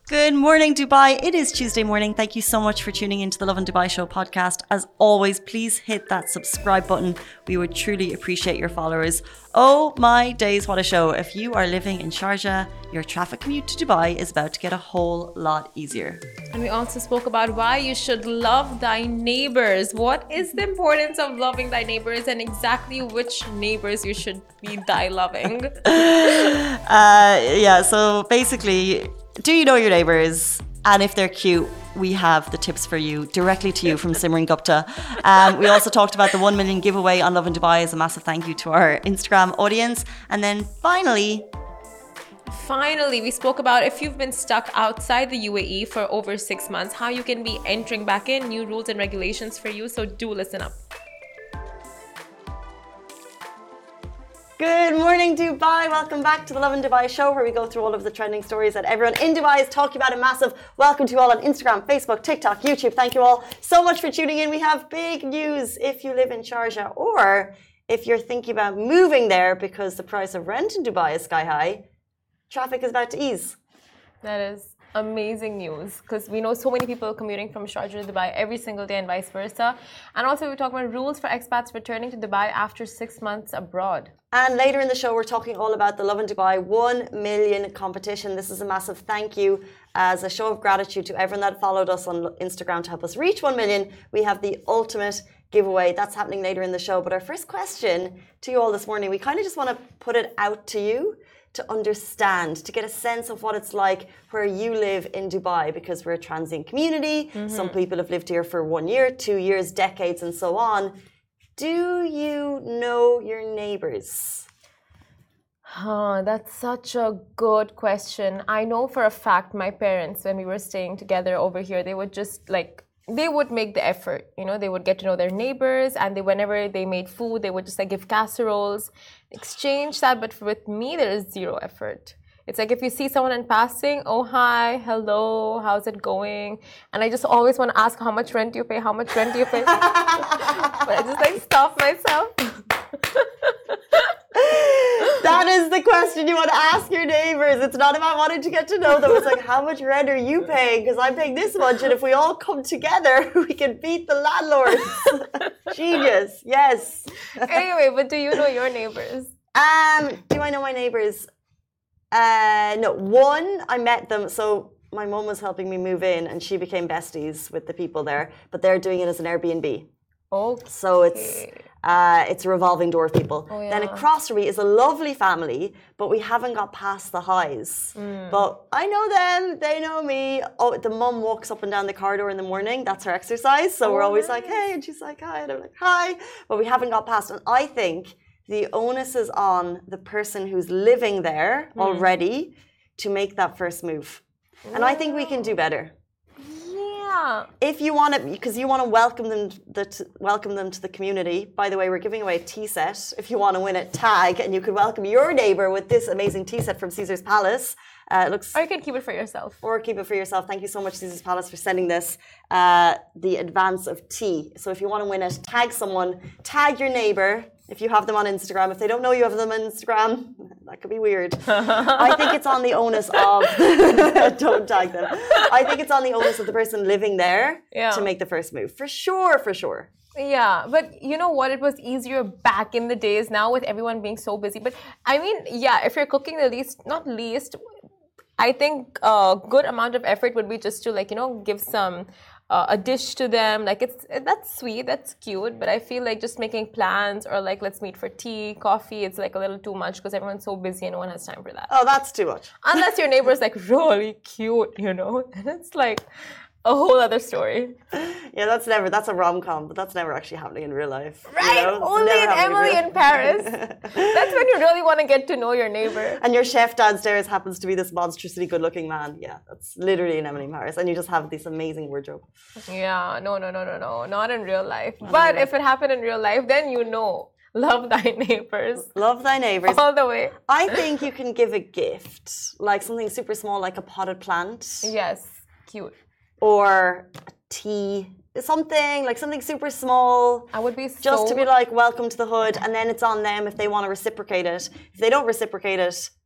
Good morning, Dubai. It is Tuesday morning. Thank you so much for tuning into the Love and Dubai Show podcast. As always, please hit that subscribe button. We would truly appreciate your followers. Oh my days, what a show. If you are living in Sharjah, your traffic commute to Dubai is about to get a whole lot easier. And we also spoke about why you should love thy neighbors. What is the importance of loving thy neighbors and exactly which neighbors you should be thy loving? So basically, do you know your neighbours? And if they're cute, we have the tips for you directly to you from Simran Gupta. We also talked about the 1 million giveaway on Love and Dubai as a massive thank you to our Instagram audience. And then finally, we spoke about if you've been stuck outside the UAE for over 6 months, how you can be entering back in, new rules and regulations for you. So do listen up. Good morning, Dubai. Welcome back to the Love and Dubai Show, where we go through all of the trending stories that everyone in Dubai is talking about. A massive welcome to you all on Instagram, Facebook, TikTok, YouTube. Thank you all so much for tuning in. We have big news if you live in Sharjah or if you're thinking about moving there because the price of rent in Dubai is sky high. Traffic is about to ease. That is amazing news because we know so many people commuting from Sharjah to Dubai every single day and vice versa. And also we talk about rules for expats returning to Dubai after 6 months abroad. And later in the show, we're talking all about the Love and Dubai 1 million competition. This is a massive thank you as a show of gratitude to everyone that followed us on Instagram to help us reach 1 million. We have the ultimate giveaway. That's happening later in the show. But our first question to you all this morning, we kind of just want to put it out to you to understand, to get a sense of what it's like where you live in Dubai, because we're a transient community. Some people have lived here for 1 year, 2 years, decades, and so on. Do you know your neighbors? That's such a good question. I know for a fact my parents, when we were staying together over here, they would just they would make the effort, they would get to know their neighbors, and whenever they made food, they would just give casseroles, exchange that. But with me, there is zero effort. It's like if you see someone in passing, oh, hi, hello, how's it going? And I just always want to ask, how much rent do you pay? How much rent do you pay? But I just stop myself. That is the question you want to ask your neighbors. It's not about wanting to get to know them. It's like, how much rent are you paying? Because I'm paying this much, and if we all come together, we can beat the landlords. Genius, yes. Anyway, but do you know your neighbors? Do I know my neighbors? No. One, I met them. So my mom was helping me move in, and she became besties with the people there. But they're doing it as an Airbnb. Okay. So it's a revolving door of people. Oh, yeah. Then across from me is a lovely family, but we haven't got past the highs. But I know them, they know me. Oh, the mum walks up and down the corridor in the morning. That's her exercise. So we're always like, hey, and she's like, hi, and I'm like, hi. But we haven't got past. And I think the onus is on the person who's living there already to make that first move. And I think we can do better. If you want to, because you want to welcome them to the community. By the way, we're giving away a tea set. If you want to win it, tag, and you could welcome your neighbor with this amazing tea set from Caesar's Palace. It looks. Or you can keep it for yourself. Or keep it for yourself. Thank you so much, Caesar's Palace, for sending this. The advance of tea. So if you want to win it, tag someone. Tag your neighbor. If you have them on Instagram. If they don't know you have them on Instagram, that could be weird. I think it's on the onus of... Don't tag them. I think it's on the onus of the person living there to make the first move. For sure, for sure. Yeah, but you know what? It was easier back in the days now with everyone being so busy. But I mean, if you're cooking not least, I think a good amount of effort would be just to give some... a dish to them, that's sweet, that's cute, but I feel like just making plans or let's meet for tea, coffee, it's a little too much because everyone's so busy and no one has time for that. Oh, that's too much. Unless your neighbor's really cute, and it's a whole other story. Yeah, that's a rom-com, but that's never actually happening in real life. Right, only in Emily in Paris. That's when you really want to get to know your neighbor. And your chef downstairs happens to be this monstrously good-looking man. Yeah, that's literally in Emily in Paris. And you just have this amazing wardrobe. Yeah, no, not in real life. But if it happened in real life, then love thy neighbors. Love thy neighbors. All the way. I think you can give a gift, like something super small, like a potted plant. Yes, cute. Or a tea, something super small. I would be just to be welcome to the hood, and then it's on them if they want to reciprocate it. If they don't reciprocate it,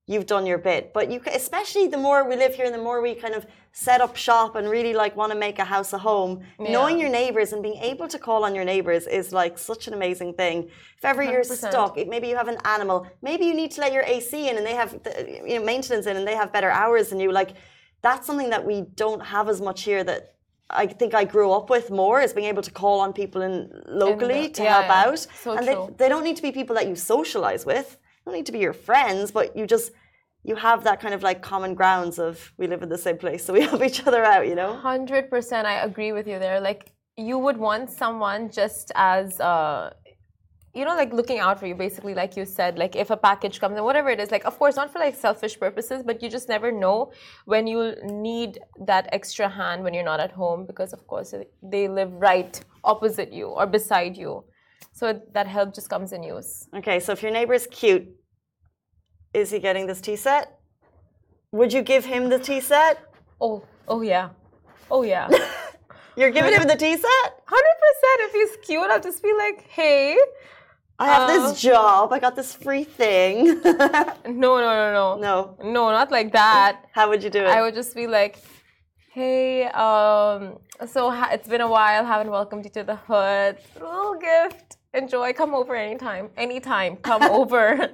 you've done your bit. But you, especially the more we live here and the more we kind of set up shop and really like want to make a house a home, knowing your neighbors and being able to call on your neighbors is like such an amazing thing. If ever you're 100%. stuck, maybe you have an animal, maybe you need to let your AC in and they have maintenance in and they have better hours than you. Like that's something that we don't have as much here that I think I grew up with more, is being able to call on people locally to help out. So and true. they don't need to be people that you socialize with. They don't need to be your friends, but you have that kind of like common grounds of we live in the same place, so we help each other out, 100%, I agree with you there. Like you would want someone just as like looking out for you, basically, like you said, like if a package comes and whatever it is, like of course not for like selfish purposes, but you just never know when you'll need that extra hand when you're not at home, because of course they live right opposite you or beside you. So that help just comes in use. Okay, so if your neighbor is cute, is he getting this tea set? Would you give him the tea set? Oh yeah. Oh yeah. You're giving him the tea set? 100%. If he's cute, I'll just be like, hey. I have this job. I got this free thing. No. No. No, not like that. How would you do it? I would just be like, hey, it's been a while. Haven't welcomed you to the hood. Little gift. Enjoy. Come over anytime. Anytime. Come over.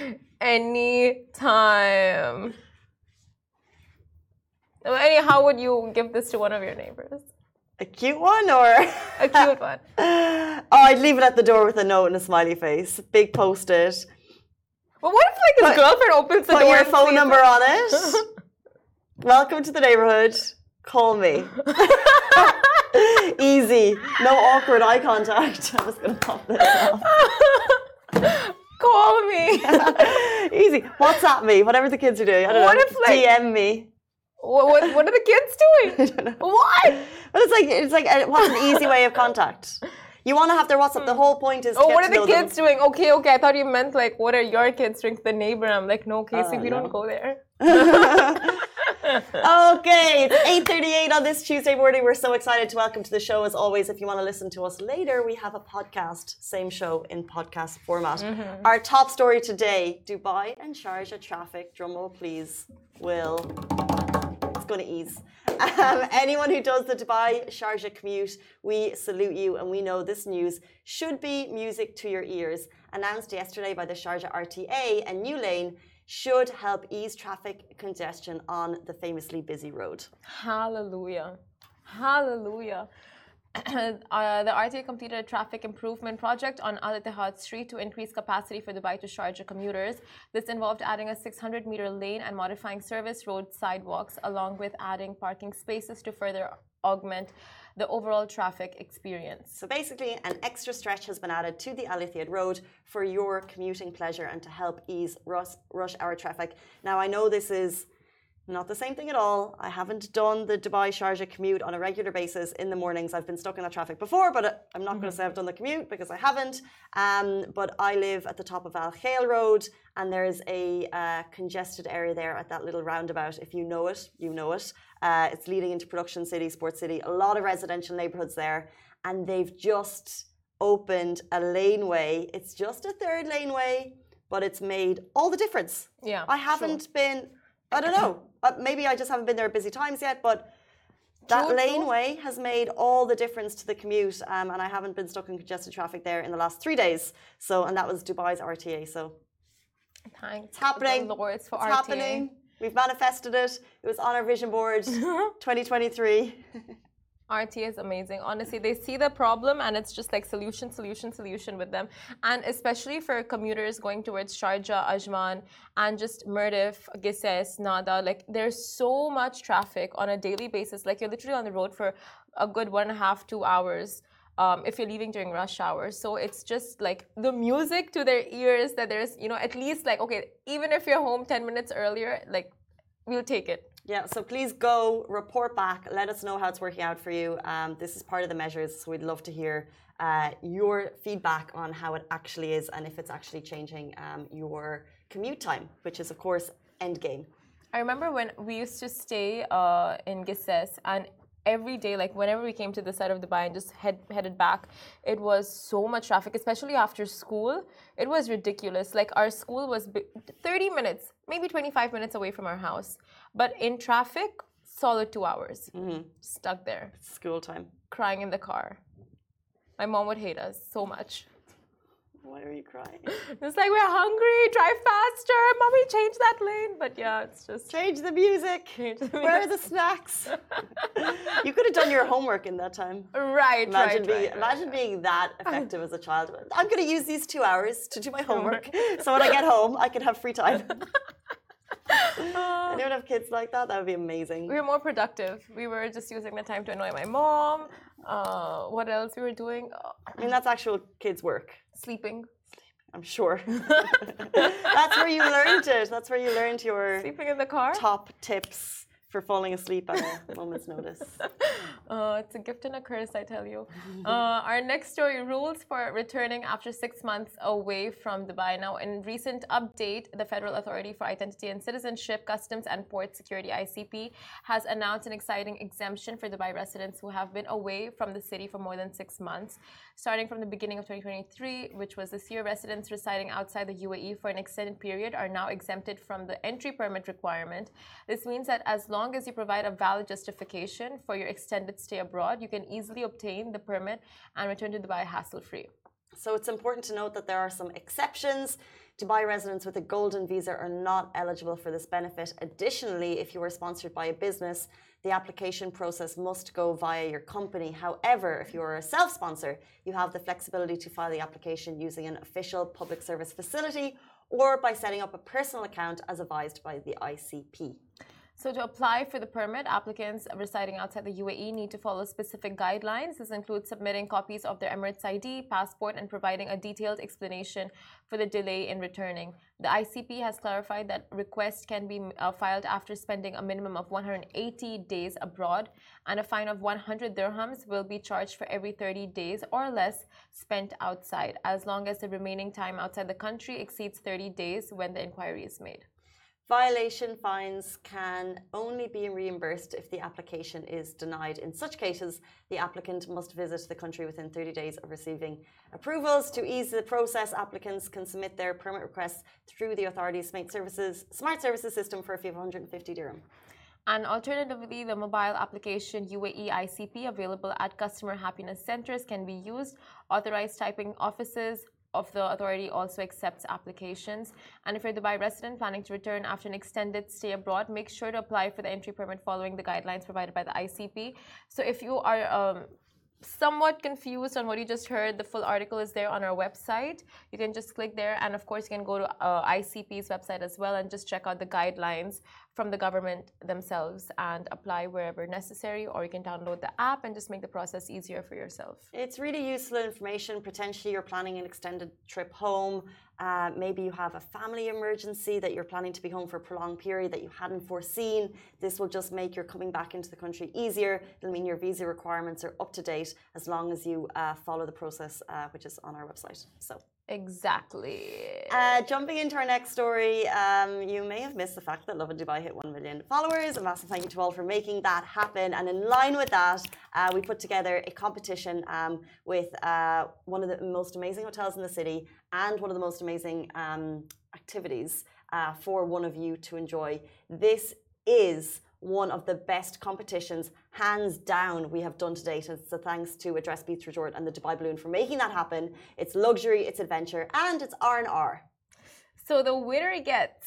Anytime. How would you give this to one of your neighbors? A cute one or? A cute one. Oh, I'd leave it at the door with a note and a smiley face. Big post-it. But what if like his girlfriend opens the door? Put your and phone number on it. Welcome to the neighborhood. Call me. Easy. No awkward eye contact. I'm just going to pop this off. Call me. Easy. WhatsApp me. Whatever the kids are doing. I don't know. If, like, DM me. What are the kids doing? I don't know. What? But it's like what's an easy way of contact? You want to have their WhatsApp. The whole point is. What are the kids doing? Okay. I thought you meant like what are your kids doing to the neighbor? I'm like, no, Casey, we don't go there. Okay, it's 8:38 on this Tuesday morning. We're so excited to welcome to the show. As always, if you want to listen to us later, we have a podcast, same show in podcast format. Our top story today: Dubai and Sharjah traffic. Drumroll, please. It's going to ease. Anyone who does the Dubai Sharjah commute, we salute you, and we know this news should be music to your ears. Announced yesterday by the Sharjah RTA, a new lane should help ease traffic congestion on the famously busy road. Hallelujah. The RTA completed a traffic improvement project on Al Ittihad Street to increase capacity for Dubai to Sharjah commuters. This involved adding a 600-meter lane and modifying service road sidewalks, along with adding parking spaces to further augment the overall traffic experience. So basically, an extra stretch has been added to the Al Ittihad Road for your commuting pleasure and to help ease rush hour traffic. Now, I know this is not the same thing at all. I haven't done the Dubai Sharjah commute on a regular basis in the mornings. I've been stuck in that traffic before, but I'm not going to say I've done the commute because I haven't. But I live at the top of Al Khail Road, and there's a congested area there at that little roundabout. If you know it, you know it. It's leading into Production City, Sports City, a lot of residential neighborhoods there, and they've just opened a laneway. It's just a third laneway, but it's made all the difference. Yeah, I haven't been, I don't know, maybe I just haven't been there at busy times yet, but that laneway has made all the difference to the commute, and I haven't been stuck in congested traffic there in the last 3 days. So, and that was Dubai's RTA. So, thanks. It's happening. The Lords for it's RTA. happening. We've manifested it. It was on our vision board, 2023. RTA is amazing. Honestly, they see the problem and it's just like solution with them. And especially for commuters going towards Sharjah, Ajman, and just Mirdif, Gises, Nada, like there's so much traffic on a daily basis. Like you're literally on the road for a good 1.5 to 2 hours. If you're leaving during rush hours. So it's just like the music to their ears that there's, you know, at least like, okay, even if you're home 10 minutes earlier, like we'll take it. Yeah, so please go report back. Let us know how it's working out for you. This is part of the measures, so we'd love to hear your feedback on how it actually is and if it's actually changing your commute time, which is, of course, endgame. I remember when we used to stay in Gises, and every day, like whenever we came to the side of Dubai and just headed back, it was so much traffic, especially after school. It was ridiculous. Like our school was 30 minutes, maybe 25 minutes away from our house. But in traffic, solid 2 hours. Stuck there. School time. Crying in the car. My mom would hate us so much. Why are you crying? It's like, we're hungry, drive faster, mommy, change that lane. But yeah, it's just... Change the music. Where are the snacks? You could have done your homework in that time. Imagine being that effective as a child. I'm going to use these 2 hours to do my homework. So when I get home, I can have free time. Anyone have kids like that? That would be amazing. We were more productive. We were just using the time to annoy my mom. What else we were doing? I mean, that's actual kids' work. Sleeping. I'm sure. That's where you learned it. That's where you learned your sleeping in the car. Top tips for falling asleep at a moment's notice. It's a gift and a curse, I tell you. Our next story, rules for returning after 6 months away from Dubai. Now, in recent update, the Federal Authority for Identity and Citizenship, Customs and Port Security, ICP, has announced an exciting exemption for Dubai residents who have been away from the city for more than 6 months. Starting from the beginning of 2023, which was this year, residents residing outside the UAE for an extended period are now exempted from the entry permit requirement. This means that as long as you provide a valid justification for your extended stay abroad, you can easily obtain the permit and return to Dubai hassle-free. So it's important to note that there are some exceptions. Dubai residents with a golden visa are not eligible for this benefit. Additionally, if you are sponsored by a business, the application process must go via your company. However, if you are a self-sponsor, you have the flexibility to file the application using an official public service facility or by setting up a personal account as advised by the ICP. So to apply for the permit, applicants residing outside the UAE need to follow specific guidelines. This includes submitting copies of their Emirates ID, passport, and providing a detailed explanation for the delay in returning. The ICP has clarified that requests can be filed after spending a minimum of 180 days abroad, and a fine of 100 dirhams will be charged for every 30 days or less spent outside, as long as the remaining time outside the country exceeds 30 days when the inquiry is made. Violation fines can only be reimbursed if the application is denied. In such cases, the applicant must visit the country within 30 days of receiving approvals. To ease the process, applicants can submit their permit requests through the authority's smart services system for a fee of 150 dirham. And alternatively, the mobile application UAE ICP available at customer happiness centers can be used. Authorized typing offices of the authority also accepts applications. And if you're a Dubai resident planning to return after an extended stay abroad, make sure to apply for the entry permit following the guidelines provided by the ICP. So if you are somewhat confused on what you just heard, the full article is there on our website. You can just click there, and of course you can go to ICP's website as well and just check out the guidelines from the government themselves and apply wherever necessary, or you can download the app and just make the process easier for yourself. It's really useful information. Potentially you're planning an extended trip home. Maybe you have a family emergency that you're planning to be home for a prolonged period that you hadn't foreseen. This will just make your coming back into the country easier. It'll mean your visa requirements are up to date as long as you follow the process, which is on our website. So. Exactly. Jumping into our next story, you may have missed the fact that Lovin Dubai hit 1 million followers. A massive thank you to all for making that happen. And in line with that, we put together a competition with one of the most amazing hotels in the city and one of the most amazing activities for one of you to enjoy. This is one of the best competitions, hands down, we have done to date. And so thanks to Address Beach Resort and the Dubai Balloon for making that happen. It's luxury, it's adventure, and it's R&R. So the winner gets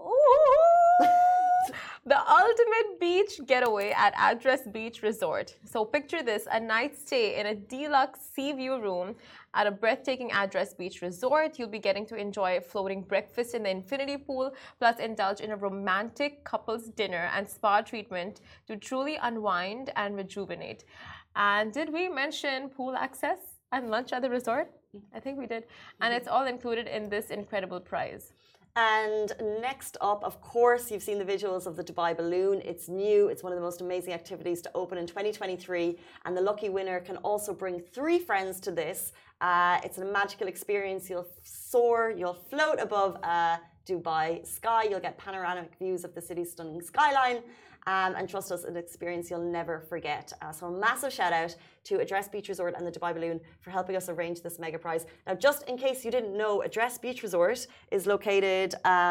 the ultimate beach getaway at Address Beach Resort. So picture this, a night stay in a deluxe sea view room at a breathtaking Address Beach Resort. You'll be getting to enjoy a floating breakfast in the infinity pool, plus indulge in a romantic couples dinner and spa treatment to truly unwind and rejuvenate. And did we mention pool access and lunch at the resort? I think we did. And it's all included in this incredible prize. And next up, of course, you've seen the visuals of the Dubai Balloon. It's new. It's one of the most amazing activities to open in 2023. And the lucky winner can also bring 3 friends to this. It's a magical experience. You'll soar, you'll float above Dubai Sky. You'll get panoramic views of the city's stunning skyline. And trust us, an experience you'll never forget. So a massive shout out to Address Beach Resort and the Dubai Balloon for helping us arrange this mega prize. Now, just in case you didn't know, Address Beach Resort is located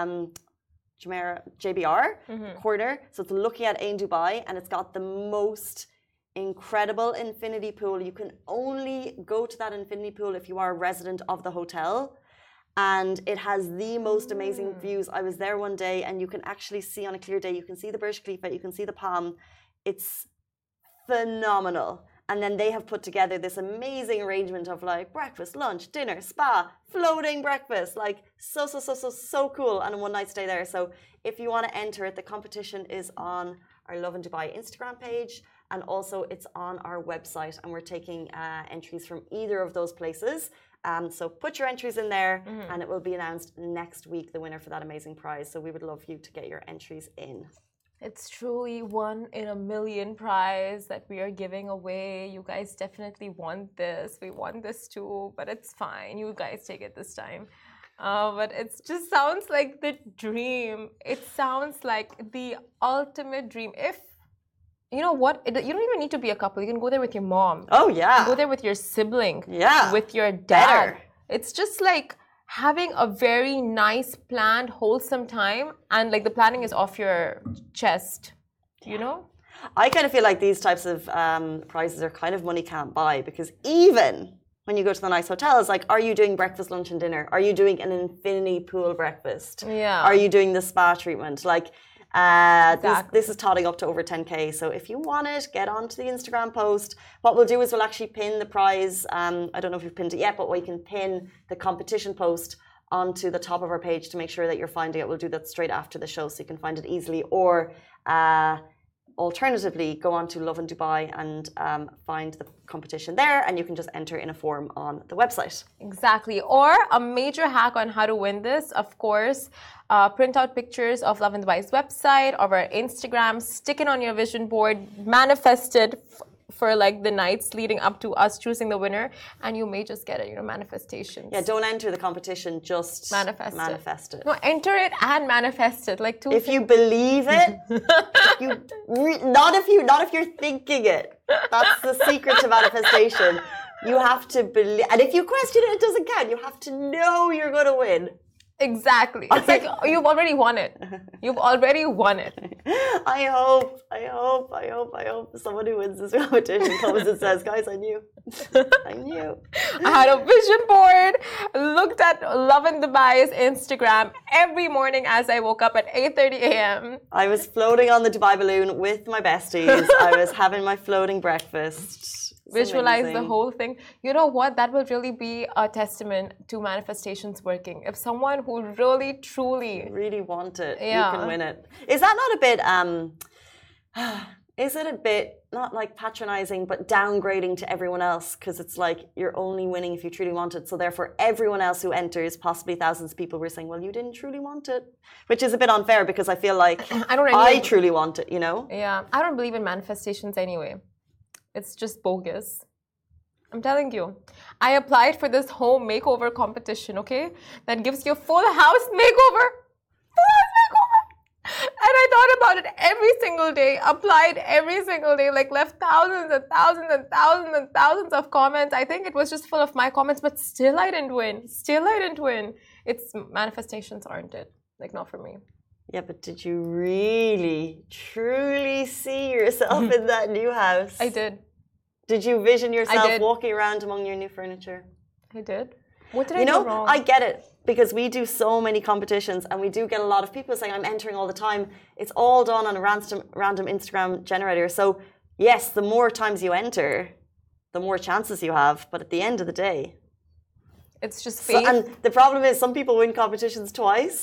Jumeirah JBR corner. So it's looking at Ain Dubai, and it's got the most incredible infinity pool. You can only go to that infinity pool if you are a resident of the hotel. And it has the most amazing views. I was there one day, and you can actually see on a clear day, you can see the Burj Khalifa, you can see the Palm. It's phenomenal. And then they have put together this amazing arrangement of like breakfast, lunch, dinner, spa, floating breakfast, like so cool, and a one night stay there. So if you want to enter it, the competition is on our Love in Dubai Instagram page, and also it's on our website, and we're taking entries from either of those places. So put your entries in there, and it will be announced next week, the winner for that amazing prize. So we would love you to get your entries in. It's truly 1 in a million prize that we are giving away. You guys definitely want this. We want this too, but it's fine. You guys take it this time. But it just sounds like the dream. It sounds like the ultimate dream. If you know what, you don't even need to be a couple. You can go there with your mom. Oh yeah. You can go there with your sibling. Yeah. With your dad. Better. It's just like having a very nice, planned, wholesome time, and like the planning is off your chest. You know? I kind of feel like these types of prizes are kind of money can't buy, because even when you go to the nice hotels, like, are you doing breakfast, lunch, and dinner? Are you doing an infinity pool breakfast? Yeah. Are you doing the spa treatment? Like, Exactly. this is totting up to over 10K. So if you want it, get onto the Instagram post. What we'll do is we'll actually pin the prize. I don't know if you've pinned it yet, but we can pin the competition post onto the top of our page to make sure that you're finding it. We'll do that straight after the show so you can find it easily. Or alternatively, go on to Love in Dubai and find the competition there, and you can just enter in a form on the website. Exactly. Or a major hack on how to win this, of course, print out pictures of Love in Dubai's website or our Instagram, stick it on your vision board, manifest it for like the nights leading up to us choosing the winner, and you may just get it, manifestations. Yeah, don't enter the competition, just manifest it. No, enter it and manifest it, like two. If you believe it, not if you're thinking it. That's the secret to manifestation. You have to believe, and if you question it, it doesn't count. You have to know you're going to win. Exactly. It's like you've already won it. You've already won it. I hope someone who wins this competition comes and says, guys, I knew. I knew. I had a vision board, looked at Love in Dubai's Instagram every morning as I woke up at 8:30 a.m. I was floating on the Dubai Balloon with my besties. I was having my floating breakfast. Visualize the whole thing. You know what? That will really be a testament to manifestations working. If someone who really, truly want it, you can win it. Is that not a bit? Is it a bit not like patronizing, but downgrading to everyone else? Because it's like you're only winning if you truly want it. So therefore, everyone else who enters, possibly thousands of people, were saying, "Well, you didn't truly want it," which is a bit unfair because I feel like I truly want it. Yeah, I don't believe in manifestations anyway. It's just bogus. I'm telling you. I applied for this home makeover competition, okay? That gives you a full house makeover. Full house makeover. And I thought about it every single day, applied every single day, like left thousands and thousands and thousands and thousands of comments. I think it was just full of my comments, but still I didn't win. It's manifestations, aren't it? Like, not for me. Yeah, but did you really, truly see yourself in that new house? I did. Did you vision yourself walking around among your new furniture? I did. What did I do wrong? I get it, because we do so many competitions and we do get a lot of people saying, I'm entering all the time. It's all done on a random Instagram generator. So yes, the more times you enter, the more chances you have. But at the end of the day, it's just fate. And the problem is some people win competitions twice.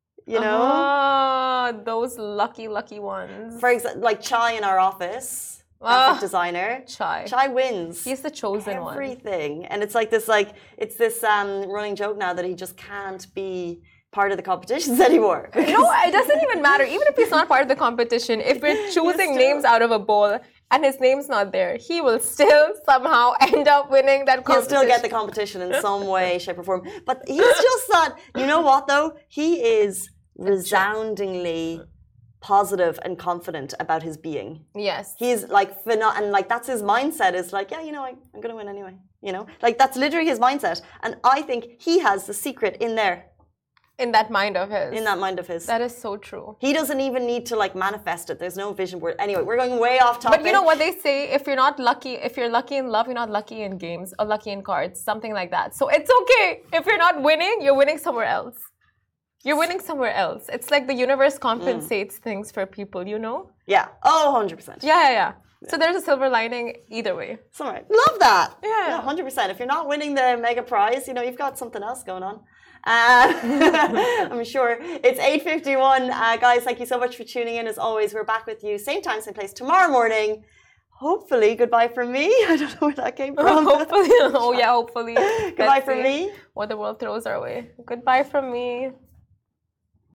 Those lucky ones. For example, like Chai in our office, graphic designer. Chai wins. He's the chosen one. Everything, and it's like this, running joke now that he just can't be part of the competitions anymore. No, it doesn't even matter. Even if he's not part of the competition, if we're choosing names out of a bowl, and his name's not there, he will still somehow end up winning that competition. He'll still get the competition in some way, shape, or form. But he's just that, you know what though? He is resoundingly positive and confident about his being. Yes. He's like, and like that's his mindset is like, yeah, you know, I'm going to win anyway. You know, like that's literally his mindset. And I think he has the secret in there. In that mind of his. In that mind of his. That is so true. He doesn't even need to like manifest it. There's no vision board. Anyway, we're going way off topic. But you know what they say? If you're lucky in love, you're not lucky in games or lucky in cards, something like that. So it's okay. If you're not winning, you're winning somewhere else. You're winning somewhere else. It's like the universe compensates things for people, you know? Yeah. Oh, 100%. Yeah. So there's a silver lining either way. It's all right. Love that. Yeah. 100%. If you're not winning the mega prize, you know, you've got something else going on. I'm sure. It's 8:51. Guys, thank you so much for tuning in. As always, we're back with you same time, same place tomorrow morning. Hopefully, goodbye from me. I don't know where that came from. Hopefully. Oh, yeah, hopefully. Goodbye from me. What the world throws our way. Goodbye from me.